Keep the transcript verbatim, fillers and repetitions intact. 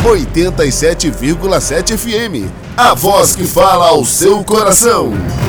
oitenta e sete vírgula sete F M. A voz que fala ao seu coração.